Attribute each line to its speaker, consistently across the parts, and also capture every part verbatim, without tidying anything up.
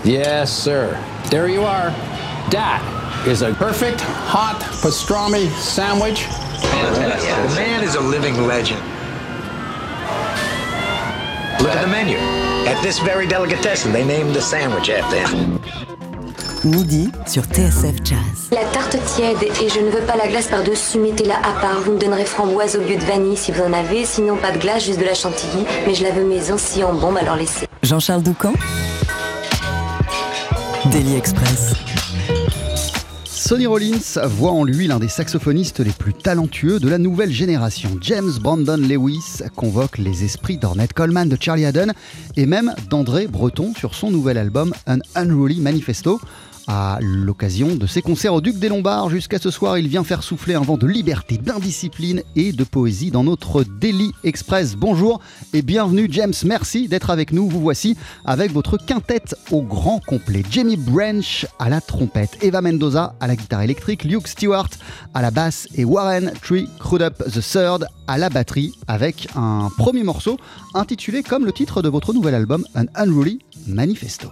Speaker 1: Yes, sir. There you are. That is a perfect hot pastrami sandwich.
Speaker 2: Fantastic. The man is a living legend. Look at the menu. At this very delicatessen, they named the sandwich after him.
Speaker 3: Midi sur T S F Jazz.
Speaker 4: La tarte tiède et je ne veux pas la glace par-dessus, mettez-la à part. Vous me donnerez framboise au lieu de vanille si vous en avez, sinon pas de glace, juste de la chantilly. Mais je la veux maison, si en bombe, alors laissez.
Speaker 3: Jean-Charles Doucan. Daily Express.
Speaker 5: Sonny Rollins voit en lui l'un des saxophonistes les plus talentueux de la nouvelle génération. James Brandon Lewis convoque les esprits d'Ornette Coleman, de Charlie Haddon et même d'André Breton sur son nouvel album An Unruly Manifesto. À l'occasion de ses concerts au Duc des Lombards, jusqu'à ce soir, il vient faire souffler un vent de liberté, d'indiscipline et de poésie dans notre Daily Express. Bonjour et bienvenue James, merci d'être avec nous. Vous voici avec votre quintette au grand complet. Jamie Branch à la trompette, Eva Mendoza à la guitare électrique, Luke Stewart à la basse et Warren Tree Crudup the third à la batterie, avec un premier morceau intitulé comme le titre de votre nouvel album An Unruly Manifesto.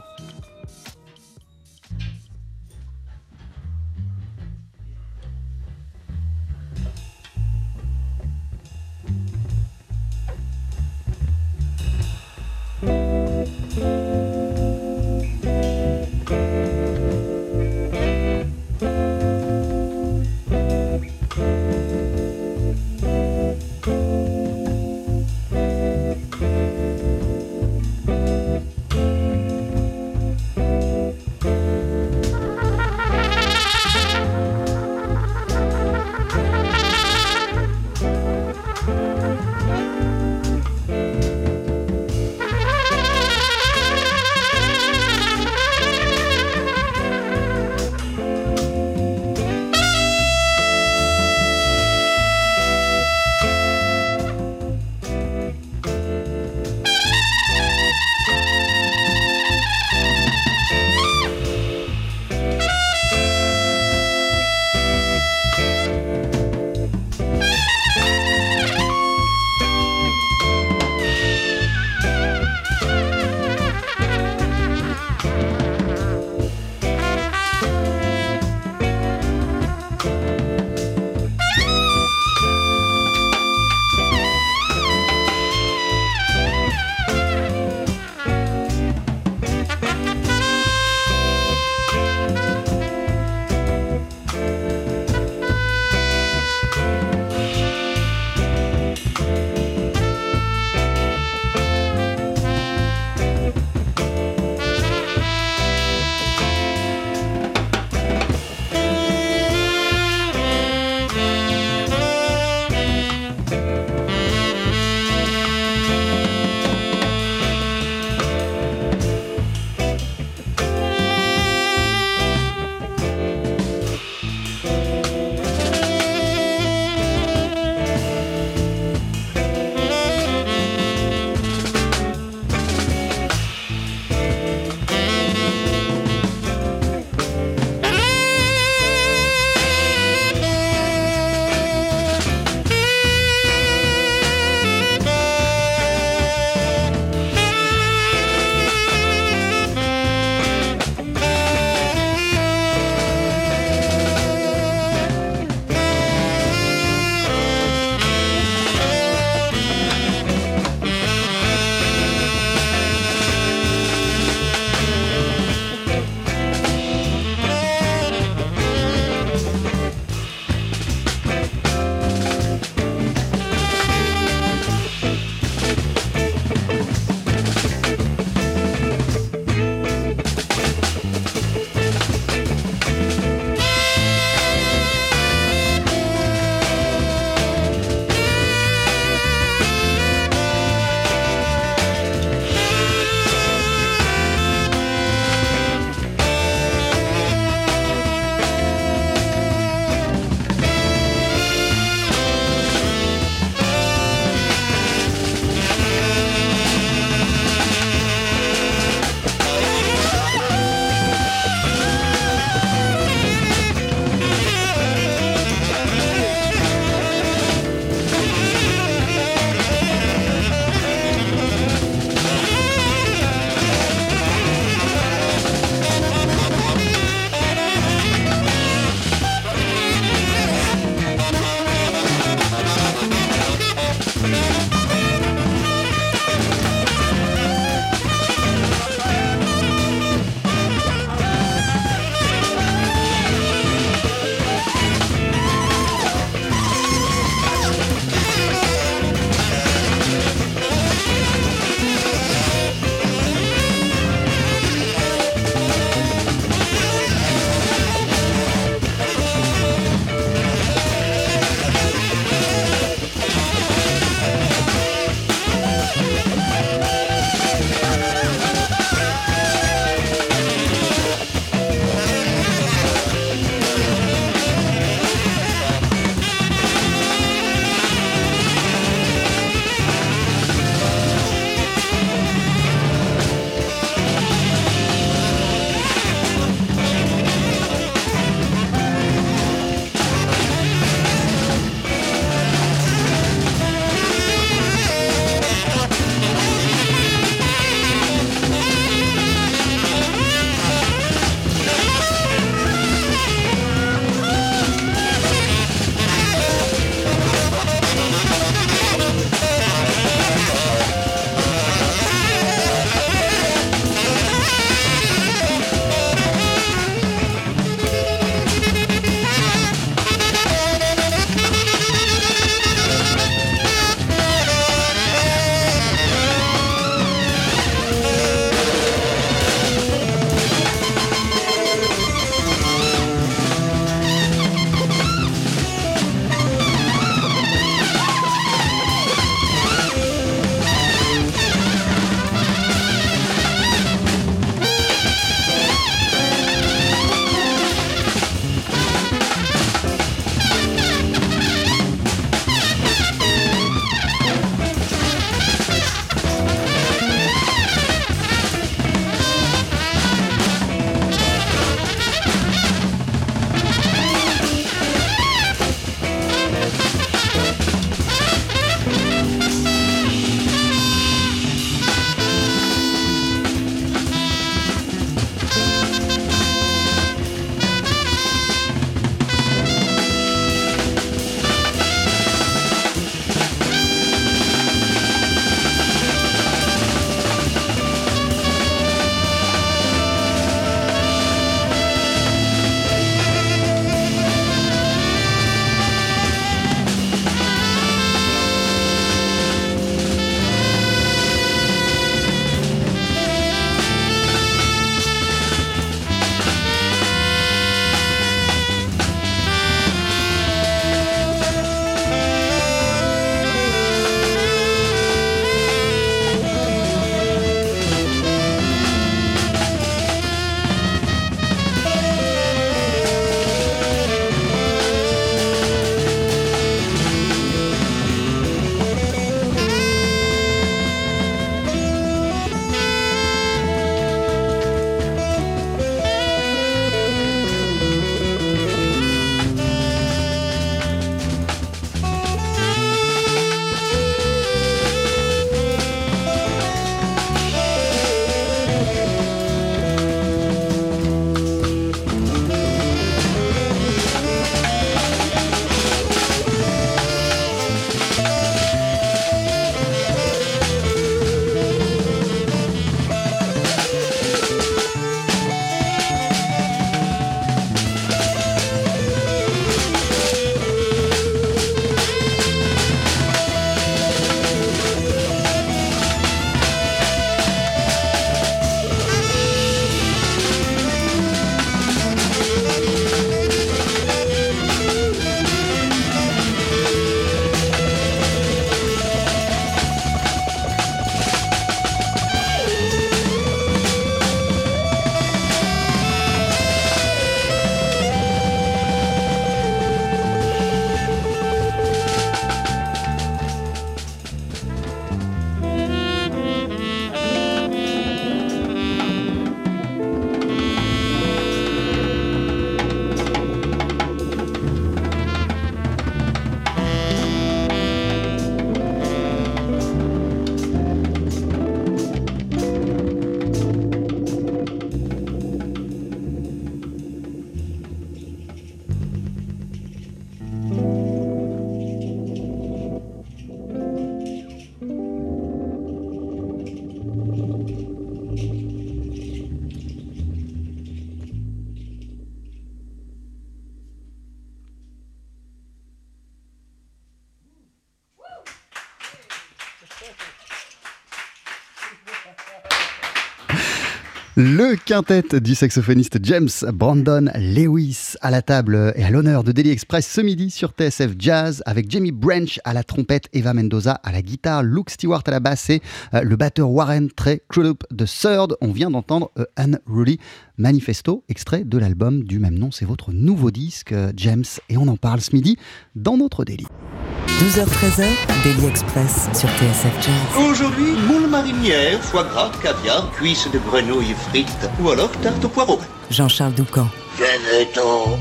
Speaker 5: Le quintet du saxophoniste James Brandon Lewis à la table et à l'honneur de Daily Express ce midi sur T S F Jazz avec Jamie Branch à la trompette, Eva Mendoza à la guitare, Luke Stewart à la basse et euh, le batteur Warren Trey Crudup de Third. On vient d'entendre euh, Unruly Manifesto, extrait de l'album du même nom. C'est votre nouveau disque, euh, James, et on en parle ce midi dans notre Daily.
Speaker 3: douze heures treize, Daily Express sur T S F Jazz.
Speaker 6: Aujourd'hui, moule marinière, foie gras, caviar, cuisses de grenouille frites ou alors tarte au poireau.
Speaker 3: Jean-Charles Doucan.
Speaker 6: Venez-t'en.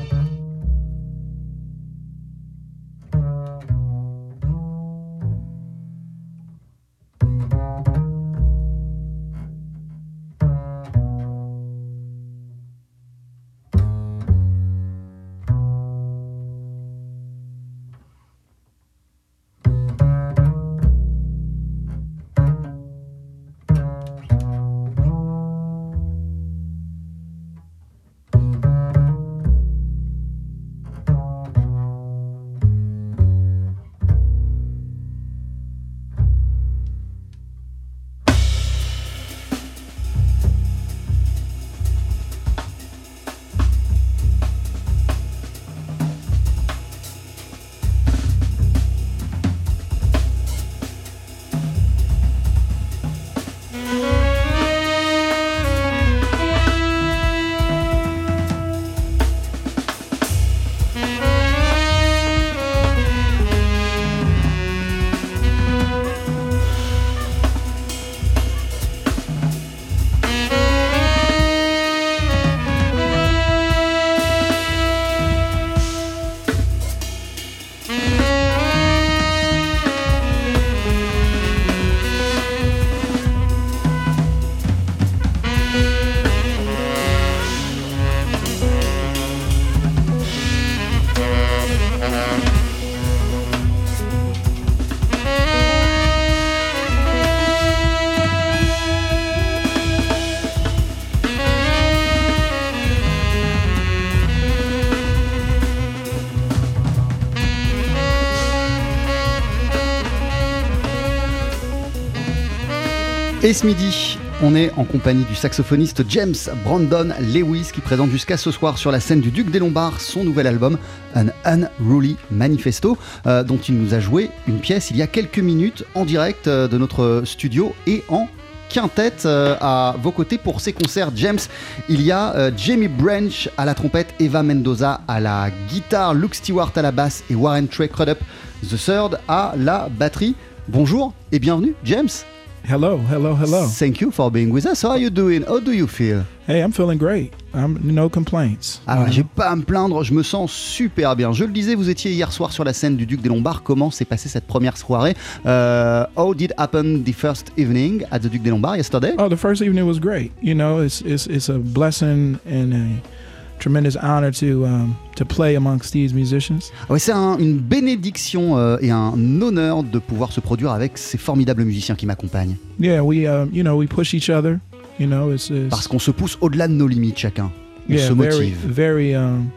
Speaker 5: Et ce midi, on est en compagnie du saxophoniste James Brandon Lewis qui présente jusqu'à ce soir sur la scène du Duc des Lombards son nouvel album An Unruly Manifesto euh, dont il nous a joué une pièce il y a quelques minutes en direct euh, de notre studio et en quintet euh, à vos côtés pour ces concerts. James, il y a euh, Jamie Branch à la trompette, Eva Mendoza à la guitare, Luke Stewart à la basse et Warren Trey Crudup the Third à la batterie. Bonjour et bienvenue James.
Speaker 7: Hello, hello, hello.
Speaker 5: Thank you for being with us. How are you doing? How do you feel?
Speaker 7: Hey, I'm feeling great. I'm no complaints.
Speaker 5: Alors, j'ai pas à me plaindre, je me sens super bien. Je le disais, vous étiez hier soir sur la scène du Duc des Lombards. Comment s'est passée cette première soirée? uh, How did happen the first evening at the Duc des Lombards yesterday?
Speaker 7: Oh, the first evening was great. You know, it's it's it's a blessing and a tremendous honor to um, to play amongst these musicians.
Speaker 5: Ouais, c'est un, une bénédiction euh, et un honneur de pouvoir se produire avec ces formidables musiciens qui m'accompagnent.
Speaker 7: Yeah, we um, you know we push each other. You know, it's, it's
Speaker 5: parce qu'on se pousse au-delà de nos limites chacun. On
Speaker 7: yeah,
Speaker 5: se
Speaker 7: very
Speaker 5: motive.
Speaker 7: very um,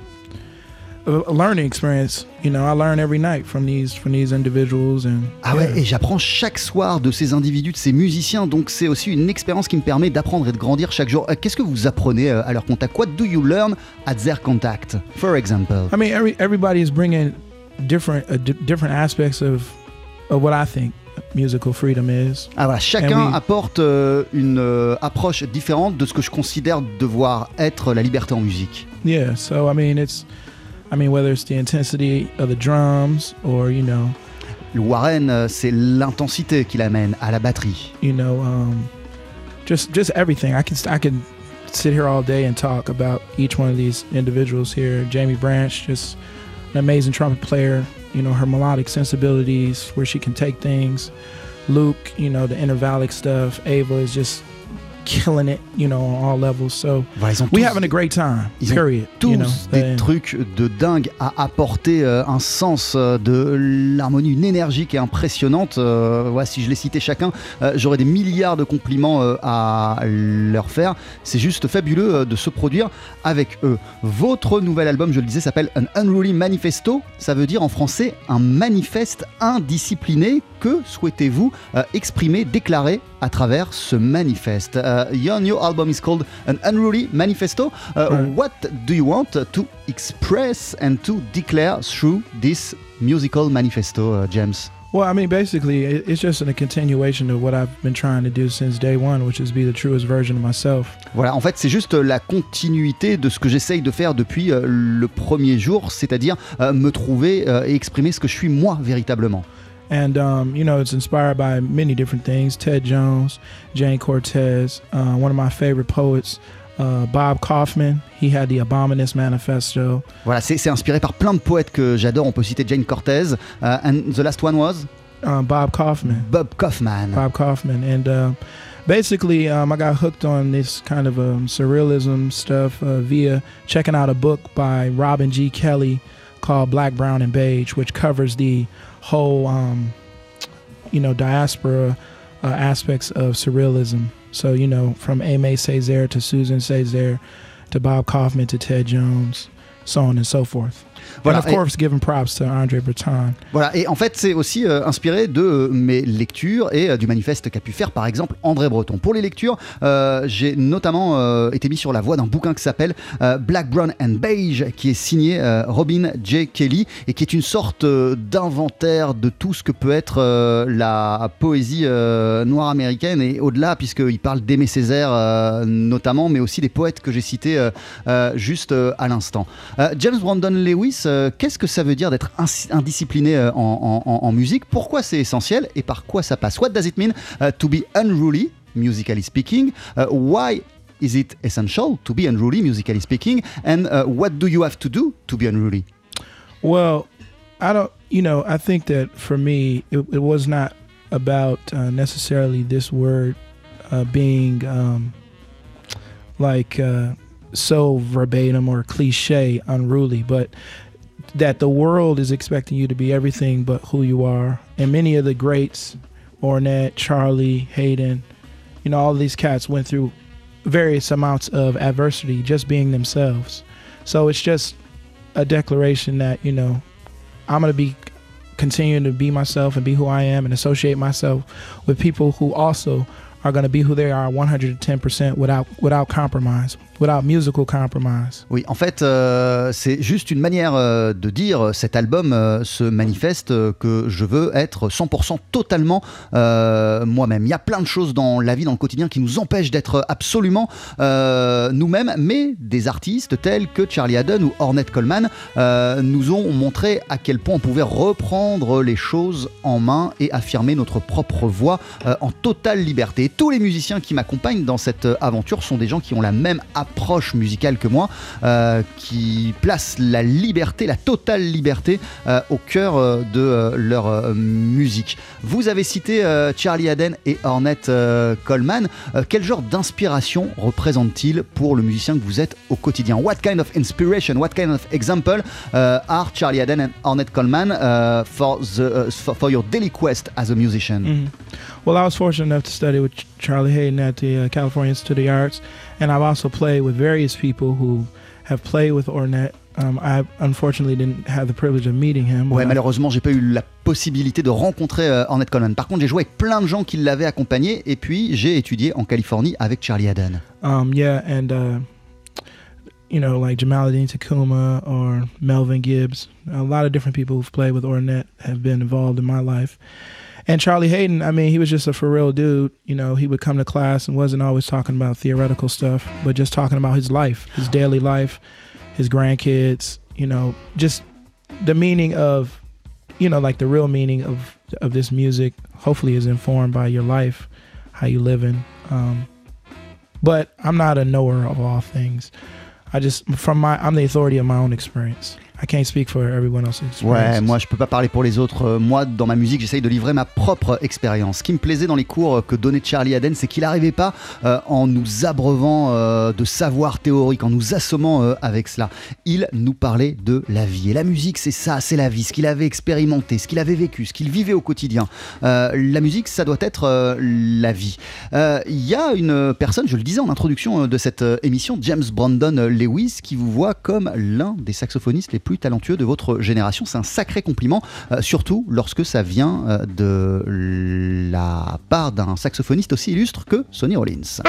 Speaker 7: a learning experience. You know, I learn every night from these from these individuals and.
Speaker 5: Ah ouais,
Speaker 7: yeah.
Speaker 5: Et j'apprends chaque soir de ces individus, de ces musiciens. Donc c'est aussi une expérience qui me permet d'apprendre et de grandir chaque jour. Qu'est-ce que vous apprenez à leur contact? What do you learn at their contact, for example?
Speaker 7: I mean, every everybody is bringing different uh, d- different aspects of of what I think musical freedom is.
Speaker 5: Ah voilà, chacun
Speaker 7: we...
Speaker 5: apporte euh, une euh, approche différente de ce que je considère devoir être la liberté en musique.
Speaker 7: Yeah, so I mean it's I mean whether it's the intensity of the drums or you know
Speaker 5: le Warren euh, c'est l'intensité qui l'amène à la batterie.
Speaker 7: You know um just just everything. I can I can sit here all day and talk about each one of these individuals here. Jamie Branch, just an amazing trumpet player. You know, her melodic sensibilities, where she can take things. Luke, you know, the intervallic stuff. Ava is just killing it, you know, on all levels. So
Speaker 5: voilà,
Speaker 7: we having a great time.
Speaker 5: Ils
Speaker 7: period.
Speaker 5: ont tous
Speaker 7: you know,
Speaker 5: des
Speaker 7: and,
Speaker 5: trucs de dingue à apporter, euh, un sens euh, de l'harmonie, une énergie qui est impressionnante. Euh, ouais, si je les citais chacun, euh, j'aurais des milliards de compliments euh, à leur faire. C'est juste fabuleux euh, de se produire avec eux. Votre nouvel album, je le disais, s'appelle An Unruly Manifesto. Ça veut dire en français un manifeste indiscipliné. Que souhaitez-vous euh, exprimer, déclarer à travers ce manifeste. Uh, your new album is called An Unruly Manifesto. Uh,
Speaker 7: Right.
Speaker 5: What do you want to express and to declare through this musical manifesto, uh, James?
Speaker 7: Well, I mean, basically, it- it's just a continuation of what I've been trying to do since day one, which is be the truest version of myself.
Speaker 5: Voilà, en fait, c'est juste la continuité de ce que j'essaye de faire depuis euh, le premier jour, c'est-à-dire euh, me trouver euh, et exprimer ce que je suis moi véritablement.
Speaker 7: And, um, you know, it's inspired by many different things. Ted Jones, Jane Cortez, uh, one of my favorite poets, uh, Bob Kaufman. He had the Abominus Manifesto.
Speaker 5: Voilà, c'est c'est inspiré par plein de poètes que j'adore. On peut citer Jane Cortez. Uh, and the last one was
Speaker 7: Um, Bob Kaufman.
Speaker 5: Bob Kaufman.
Speaker 7: Bob Kaufman. And uh, basically, um, I got hooked on this kind of um, surrealism stuff uh, via checking out a book by Robin G. Kelly called Black, Brown, and Beige, which covers the whole, um, you know, diaspora uh, aspects of surrealism. So, you know, from Aimé Césaire to Susan Césaire to Bob Kaufman to Ted Jones, so on and so forth.
Speaker 5: Voilà,
Speaker 7: and of course, giving props to Andre Breton.
Speaker 5: Voilà, et en fait, c'est aussi euh, inspiré de euh, mes lectures et euh, du manifeste qu'a pu faire, par exemple, André Breton. Pour les lectures, euh, j'ai notamment euh, été mis sur la voie d'un bouquin qui s'appelle euh, Black, Brown and Beige, qui est signé euh, Robin J. Kelly et qui est une sorte euh, d'inventaire de tout ce que peut être euh, la poésie euh, noire américaine et au-delà, puisqu'il parle d'Aimé Césaire euh, notamment, mais aussi des poètes que j'ai cités euh, euh, juste euh, à l'instant. Euh, James Brandon Lewis, euh, qu'est-ce que ça veut dire d'être ins- indiscipliné euh, en, en- en musique? Pourquoi c'est essentiel et par quoi ça passe? What does it mean uh, to be unruly, musically speaking? Uh, why is it essential to be unruly, musically speaking? And uh, what do you have to do to be unruly?
Speaker 7: Well, I don't, you know, I think that for me, it, it was not about uh, necessarily this word uh, being um, like uh, so verbatim or cliche, unruly, but that the world is expecting you to be everything but who you are. And many of the greats, Ornette, Charlie, Hayden, you know, all these cats went through various amounts of adversity just being themselves. So it's just a declaration that, you know, I'm going to be continuing to be myself and be who I am and associate myself with people who also are going to be who they are one hundred ten percent without without compromise, without musical compromise.
Speaker 5: Oui, en fait, euh, c'est juste une manière euh, de dire, cet album euh, se manifeste euh, que je veux être cent pour cent totalement euh, moi-même. Il y a plein de choses dans la vie, dans le quotidien qui nous empêchent d'être absolument euh, nous-mêmes, mais des artistes tels que Charlie Haddon ou Ornette Coleman euh, nous ont montré à quel point on pouvait reprendre les choses en main et affirmer notre propre voix euh, en totale liberté. Et tous les musiciens qui m'accompagnent dans cette aventure sont des gens qui ont la même approche musicale que moi, euh, qui placent la liberté, la totale liberté euh, au cœur euh, de euh, leur euh, musique. Vous avez cité euh, Charlie Haddon et Ornette euh, Coleman. Euh, quel genre d'inspiration représente-t-il pour le musicien que vous êtes au quotidien? What kind of inspiration, what kind of example uh, are Charlie Haddon and Ornette Coleman uh, for, the, uh, for, for your daily quest as a musician?
Speaker 7: Mm-hmm. Well, I was fortunate enough to study with Ch- Charlie Hayden at the uh, California Institute of the Arts, and I've also played with various people who have played with Ornette. Um, I unfortunately didn't have the privilege of meeting him.
Speaker 5: Ouais,
Speaker 7: but I-
Speaker 5: malheureusement, j'ai pas eu la possibilité de rencontrer euh, Ornette Coleman. Par contre, j'ai joué avec plein de gens qui l'avaient accompagné, et puis j'ai étudié en Californie avec Charlie Haddon.
Speaker 7: Um, yeah, and uh, you know, like Jamaluddin Takuma or Melvin Gibbs, a lot of different people who've played with Ornette have been involved in my life. And Charlie Hayden, I mean, he was just a for real dude. You know, he would come to class and wasn't always talking about theoretical stuff, but just talking about his life, his daily life, his grandkids, you know, just the meaning of, you know, like the real meaning of of this music hopefully is informed by your life, how you living. Um, but I'm not a knower of all things. I just, from my, I'm the authority of my own experience. I can't speak for everyone else's experience.
Speaker 5: Ouais, moi je peux pas parler pour les autres. Euh, Moi, dans ma musique, j'essaye de livrer ma propre expérience. Ce qui me plaisait dans les cours que donnait Charlie Haddon, c'est qu'il n'arrivait pas euh, en nous abreuvant euh, de savoir théorique, en nous assommant euh, avec cela. Il nous parlait de la vie. Et la musique, c'est ça, c'est la vie. Ce qu'il avait expérimenté, ce qu'il avait vécu, ce qu'il vivait au quotidien. Euh, la musique, ça doit être euh, la vie. Il euh, y a une personne, je le disais en introduction de cette euh, émission, James Brandon Lewis, qui vous voit comme l'un des saxophonistes les plus plus talentueux de votre génération. C'est un sacré compliment, euh, surtout lorsque ça vient euh, de la part d'un saxophoniste aussi illustre que Sonny Rollins.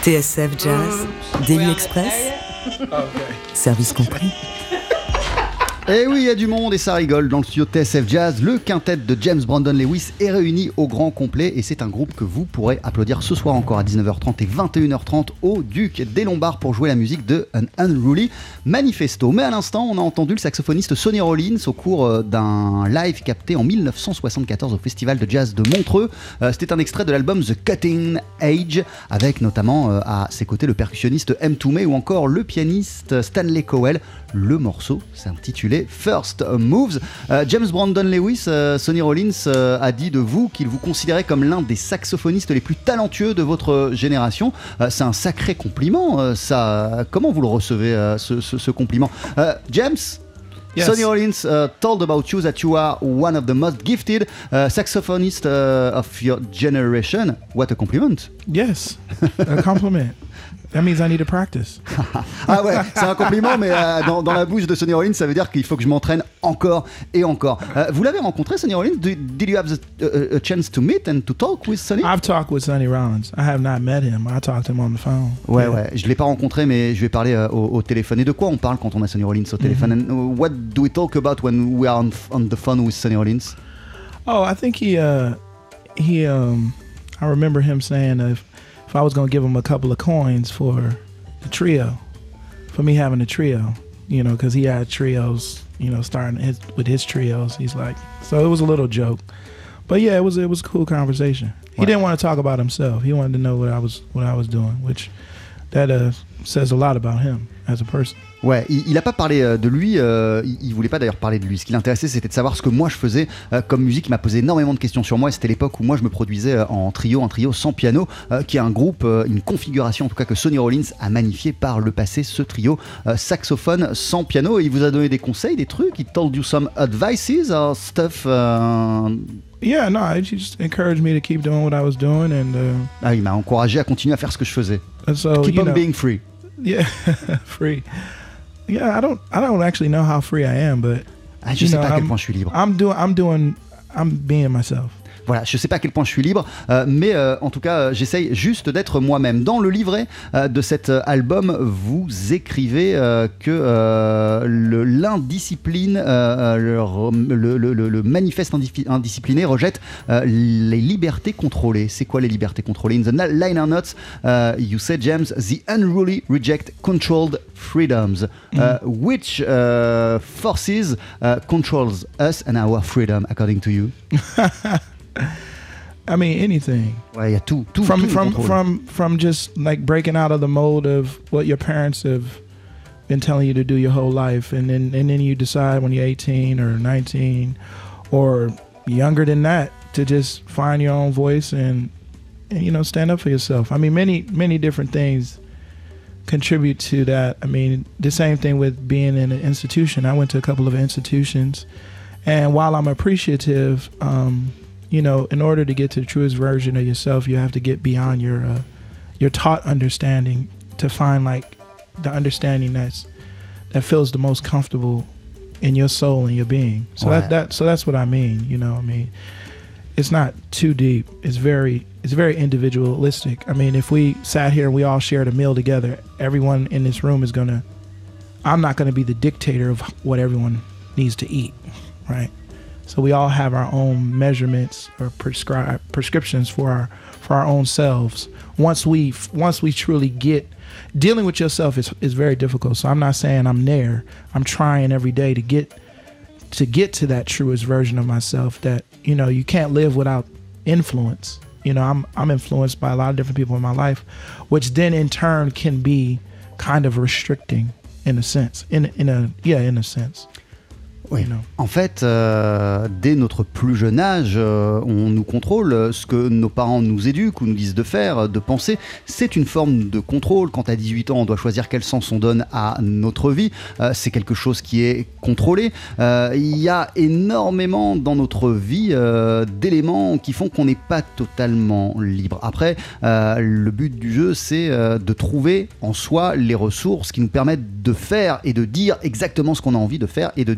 Speaker 3: T S F Jazz, Daily Express, service compris.
Speaker 5: Et oui, il y a du monde et ça rigole. Dans le studio T S F Jazz, le quintet de James Brandon Lewis est réuni au grand complet et c'est un groupe que vous pourrez applaudir ce soir encore à dix-neuf heures trente et vingt et une heures trente au Duc des Lombards pour jouer la musique de An Unruly Manifesto. Mais à l'instant, on a entendu le saxophoniste Sonny Rollins au cours d'un live capté en dix-neuf cent soixante-quatorze au Festival de Jazz de Montreux. C'était un extrait de l'album The Cutting Edge avec notamment à ses côtés le percussionniste M. Toomey ou encore le pianiste Stanley Cowell. Le morceau s'intitulait First Moves. Euh, James Brandon Lewis, euh, Sonny Rollins euh, a dit de vous qu'il vous considérait comme l'un des saxophonistes les plus talentueux de votre génération. Euh, c'est un sacré compliment. Euh, ça, comment vous le recevez, euh, ce, ce, ce compliment euh, James? Yes. Sonny Rollins uh, told about you that you are one of the most gifted uh, saxophonists uh, of your generation. What a compliment.
Speaker 7: Yes, a compliment. That means I need to practice.
Speaker 5: Ah ouais, c'est un compliment, mais euh, dans, dans la bouche de Sonny Rollins, ça veut dire qu'il faut que je m'entraîne encore et encore. Euh, vous l'avez rencontré, Sonny Rollins? Did, did you have the, uh, a chance to meet and to talk with Sonny?
Speaker 7: I've talked with Sonny Rollins. I have not met him. I talked to him on the phone.
Speaker 5: Ouais, yeah. ouais, je l'ai pas rencontré, mais je vais parler euh, au, au téléphone. Et de quoi on parle quand on a Sonny Rollins au téléphone? Mm-hmm. And what do we talk about when we are on, on the phone with Sonny Rollins?
Speaker 7: Oh, I think he, uh, he, um, I remember him saying uh, if, if I was going to give him a couple of coins for the trio, for me having a trio, you know, because he had trios, you know, starting his, with his trios. He's like, so it was a little joke, but yeah, it was it was a cool conversation. He ouais. didn't want to talk about himself. He wanted to know what I was what I was doing, which that uh, says a lot about him as a person.
Speaker 5: Ouais, il n'a pas parlé de lui, euh, il, il voulait pas d'ailleurs parler de lui. Ce qui l'intéressait, c'était de savoir ce que moi je faisais euh, comme musique. Il m'a posé énormément de questions sur moi et c'était l'époque où moi je me produisais en trio, un trio sans piano, euh, qui est un groupe, euh, une configuration en tout cas que Sonny Rollins a magnifié par le passé, ce trio euh, saxophone sans piano. Et il vous a donné des conseils, des trucs, he told you some advices or stuff. Uh...
Speaker 7: Yeah, no, he just encouraged me to keep doing what I was doing and. Uh...
Speaker 5: Ah, il m'a encouragé à continuer à faire ce que je faisais.
Speaker 7: So,
Speaker 5: keep on
Speaker 7: know,
Speaker 5: being free.
Speaker 7: Yeah, free. Yeah, I don't, I don't actually know how free I am, but
Speaker 5: ah, je sais know, pas à quel point je suis libre.
Speaker 7: I'm doing, I'm doing, I'm being myself.
Speaker 5: Voilà, je sais pas à quel point je suis libre, euh, mais euh, en tout cas, euh, j'essaye juste d'être moi-même. Dans le livret euh, de cet euh, album, vous écrivez euh, que euh, le, l'indiscipline, euh, le, le, le, le manifeste indiscipliné rejette euh, les libertés contrôlées. C'est quoi les libertés contrôlées? In the liner notes, uh, you said, James, the unruly reject controlled freedoms. Mm. Uh, which uh, forces uh, controls us and our freedom, according to you?
Speaker 7: I mean, anything.
Speaker 5: Ouais, il y a tout, tout,
Speaker 7: from
Speaker 5: tout
Speaker 7: from from from just like breaking out of the mold of what your parents have been telling you to do your whole life, and then and then you decide when you're eighteen or nineteen or younger than that to just find your own voice and, and you know, stand up for yourself. I mean, many many different things contribute to that. I mean, the same thing with being in an institution. I went to a couple of institutions, and while I'm appreciative, um, you know, in order to get to the truest version of yourself, you have to get beyond your uh, your taught understanding to find like the understanding that's that feels the most comfortable in your soul and your being. So ouais. that that so that's what I mean. You know, I mean, it's not too deep. It's very it's very individualistic. I mean, if we sat here and we all shared a meal together, everyone in this room is gonna. I'm not gonna be the dictator of what everyone needs to eat, right? So we all have our own measurements or prescribe prescriptions for our for our own selves. Once we once we truly get dealing with yourself is is very difficult. So I'm not saying I'm there. I'm trying every day to get to get to that truest version of myself. That, you know, you can't live without influence. You know, I'm I'm influenced by a lot of different people in my life, which then in turn can be kind of restricting in a sense. In in a yeah, in a sense.
Speaker 5: Oui. En fait, euh, dès notre plus jeune âge, euh, on nous contrôle. Ce que nos parents nous éduquent ou nous disent de faire, de penser, c'est une forme de contrôle. Quand à dix-huit ans, on doit choisir quel sens on donne à notre vie. Euh, c'est quelque chose qui est contrôlé. Euh, il y a énormément dans notre vie euh, d'éléments qui font qu'on n'est pas totalement libre. Après, euh, le but du jeu, c'est euh, de trouver en soi les ressources qui nous permettent de faire et de dire exactement ce qu'on a envie de faire et de dire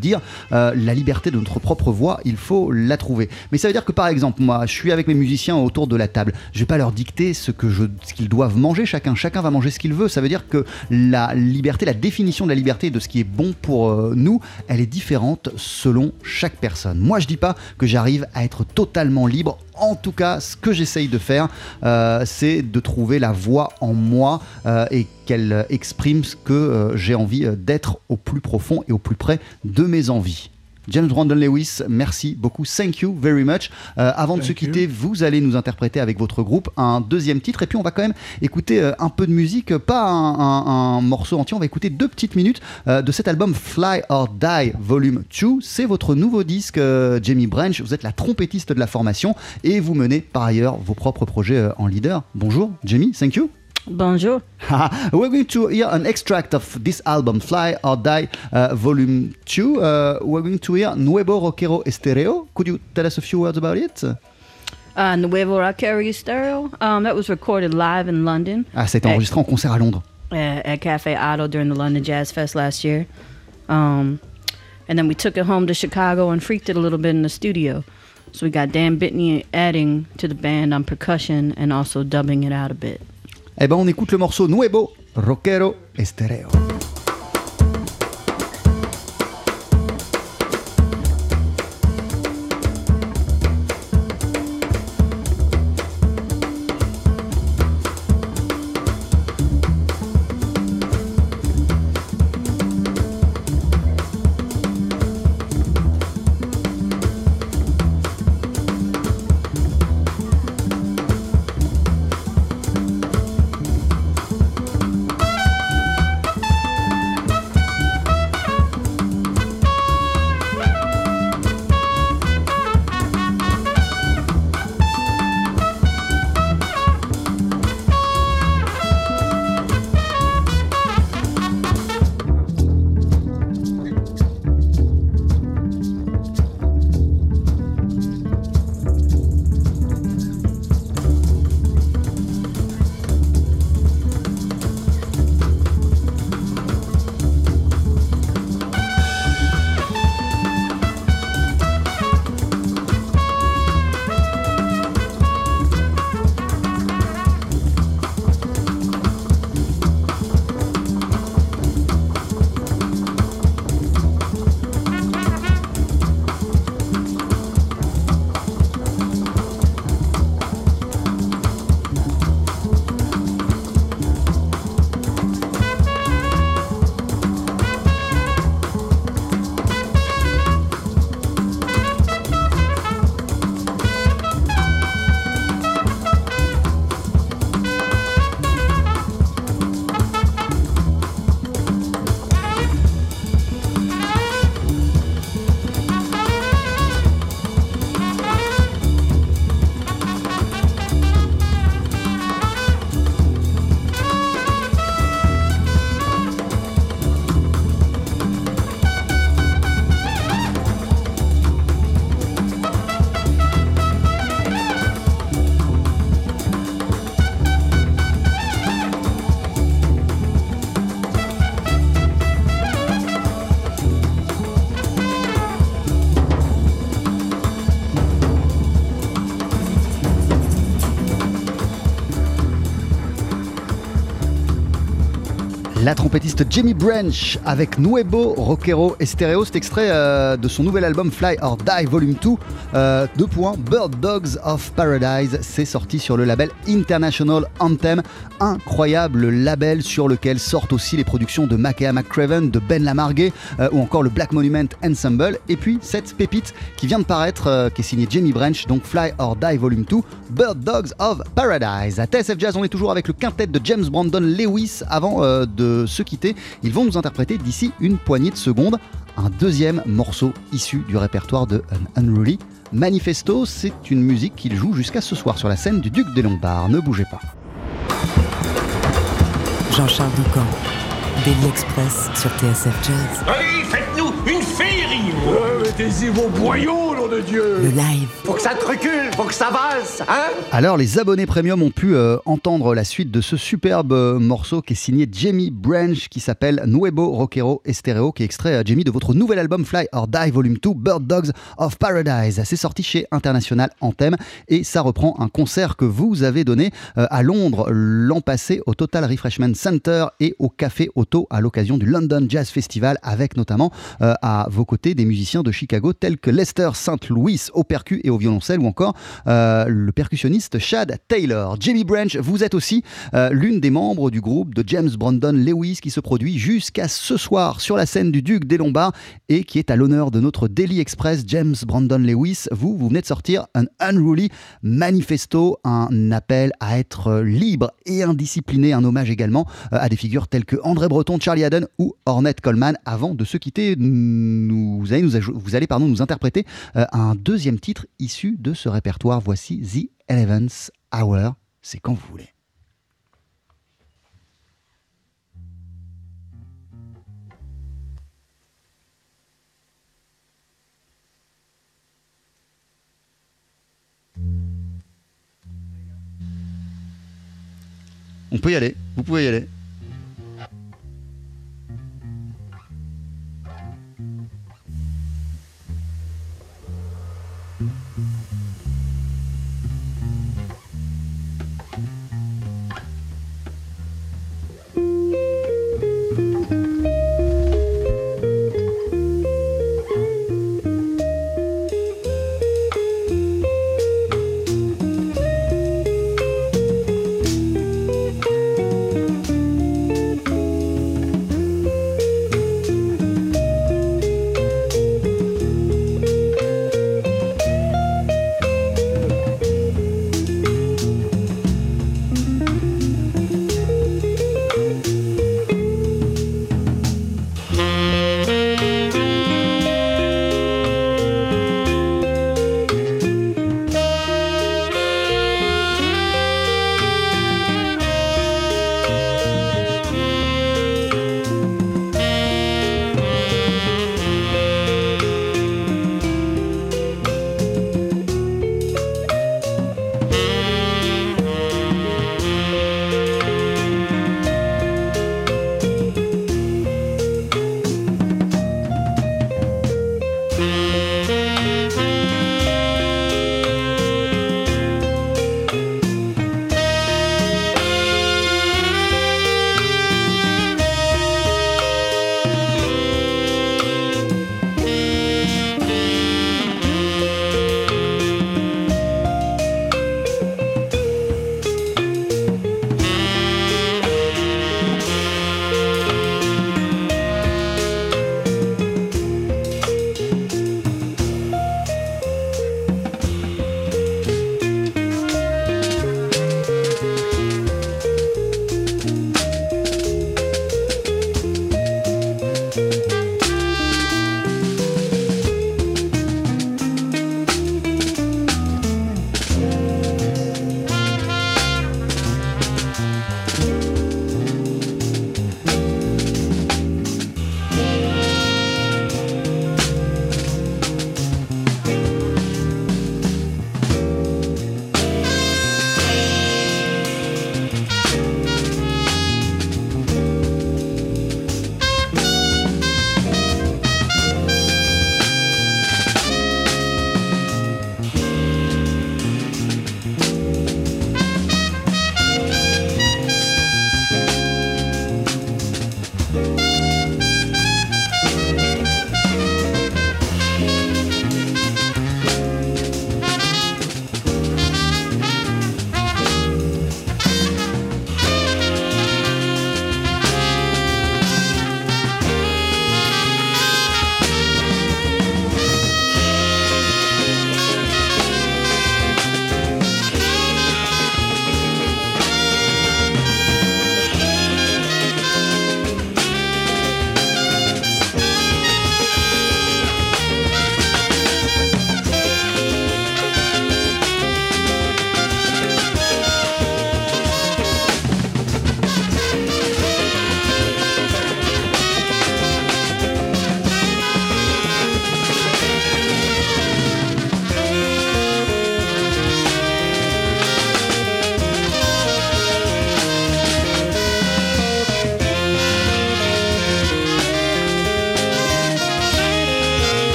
Speaker 5: euh, la liberté de notre propre voix, il faut la trouver. Mais ça veut dire que par exemple, moi, je suis avec mes musiciens autour de la table, je vais pas leur dicter ce, que je, ce qu'ils doivent manger chacun, chacun va manger ce qu'il veut. Ça veut dire que la liberté, la définition de la liberté et de ce qui est bon pour euh, nous, elle est différente selon chaque personne. Moi, je dis pas que j'arrive à être totalement libre. En tout cas, ce que j'essaye de faire, euh, c'est de trouver la voix en moi euh, et qu'elle exprime ce que euh, j'ai envie d'être au plus profond et au plus près de mes envies. James Brandon Lewis, merci beaucoup, thank you very much. Euh, avant thank de se quitter, you. Vous allez nous interpréter avec votre groupe un deuxième titre et puis on va quand même écouter euh, un peu de musique, pas un, un, un morceau entier, on va écouter deux petites minutes euh, de cet album Fly or Die Volume deux. C'est votre nouveau disque, euh, Jamie Branch, vous êtes la trompettiste de la formation et vous menez par ailleurs vos propres projets euh, en leader. Bonjour Jamie, thank you.
Speaker 8: Bonjour.
Speaker 5: We're going to hear an extract of this album, Fly or Die, uh, Volume two. Uh, we're going to hear Nuevo Rockero Estereo. Could you tell us a few words about it?
Speaker 8: Uh, Nuevo Rockero Estereo. Um, that was recorded live in London.
Speaker 5: Ah, ça a été enregistré en concert à Londres.
Speaker 8: Uh, at Cafe Otto during the London Jazz Fest last year. Um, and then we took it home to Chicago and freaked it a little bit in the studio. So we got Dan Bitney adding to the band on percussion and also dubbing it out a bit.
Speaker 5: Eh ben on écoute le morceau Nuevo Rockero Estereo. La trompettiste Jamie Branch avec Nuevo Rockero Estereo, cet extrait euh, de son nouvel album Fly or Die Volume deux, euh, deux points, Bird Dogs of Paradise, c'est sorti sur le label International Anthem, incroyable label sur lequel sortent aussi les productions de Makea McCraven, de Ben Lamargue euh, ou encore le Black Monument Ensemble, et puis cette pépite qui vient de paraître, euh, qui est signée Jamie Branch, donc Fly or Die Volume deux, Bird Dogs of Paradise. À T S F Jazz, on est toujours avec le quintet de James Brandon Lewis. Avant euh, de se quitter, ils vont nous interpréter d'ici une poignée de secondes un deuxième morceau issu du répertoire de An Unruly. Manifesto, c'est une musique qu'ils jouent jusqu'à ce soir sur la scène du Duc des Lombards. Ne bougez pas.
Speaker 3: Jean-Charles Doucan, Daily Express sur T S F Jazz.
Speaker 9: Allez, faites-nous une féerie. Ouais, mettez-y vos boyaux, là. nom de Dieu.
Speaker 3: Le live.
Speaker 9: Faut que ça te recule, faut que ça vasse, hein?
Speaker 5: Alors, les abonnés premium ont pu euh, entendre la suite de ce superbe euh, morceau qui est signé Jamie Branch, qui s'appelle Nuevo Rockero Estereo, qui est extrait, euh, Jamie, de votre nouvel album Fly or Die Volume deux, Bird Dogs of Paradise. C'est sorti chez International Anthem et ça reprend un concert que vous avez donné euh, à Londres l'an passé au Total Refreshment Center et au Café Otto à l'occasion du London Jazz Festival, avec notamment euh, à vos côtés des musiciens de Chicago tels que Lester Saint Louis au percu et au violoncelle, ou encore euh, le percussionniste Chad Taylor. Jamie Branch, vous êtes aussi euh, l'une des membres du groupe de James Brandon Lewis qui se produit jusqu'à ce soir sur la scène du Duc des Lombards et qui est à l'honneur de notre Daily Express. James Brandon Lewis, vous, vous venez de sortir un Unruly Manifesto, un appel à être libre et indiscipliné, un hommage également euh, à des figures telles que André Breton, Charlie Haddon ou Ornette Coleman. Avant de se quitter, nous, vous allez, nous, vous allez pardon, nous interpréter euh, un deuxième titre issu de ce répertoire. Voici The eleventh Hour, c'est quand vous voulez. On peut y aller, vous pouvez y aller.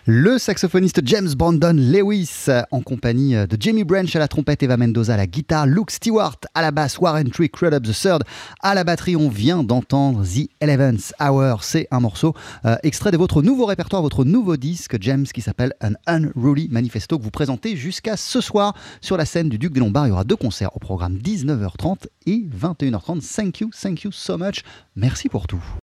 Speaker 5: Le saxophoniste James Brandon Lewis en compagnie de Jamie Branch à la trompette, Eva Mendoza à la guitare, Luke Stewart à la basse, Warren Tree Crudup the third à la batterie. On vient d'entendre The eleventh Hour. C'est un morceau euh, extrait de votre nouveau répertoire, votre nouveau disque, James, qui s'appelle An Unruly Manifesto, que vous présentez jusqu'à ce soir sur la scène du Duc des Lombards. Il y aura deux concerts au programme dix-neuf heures trente et vingt et une heures trente. Thank you, thank you so much. Merci pour tout.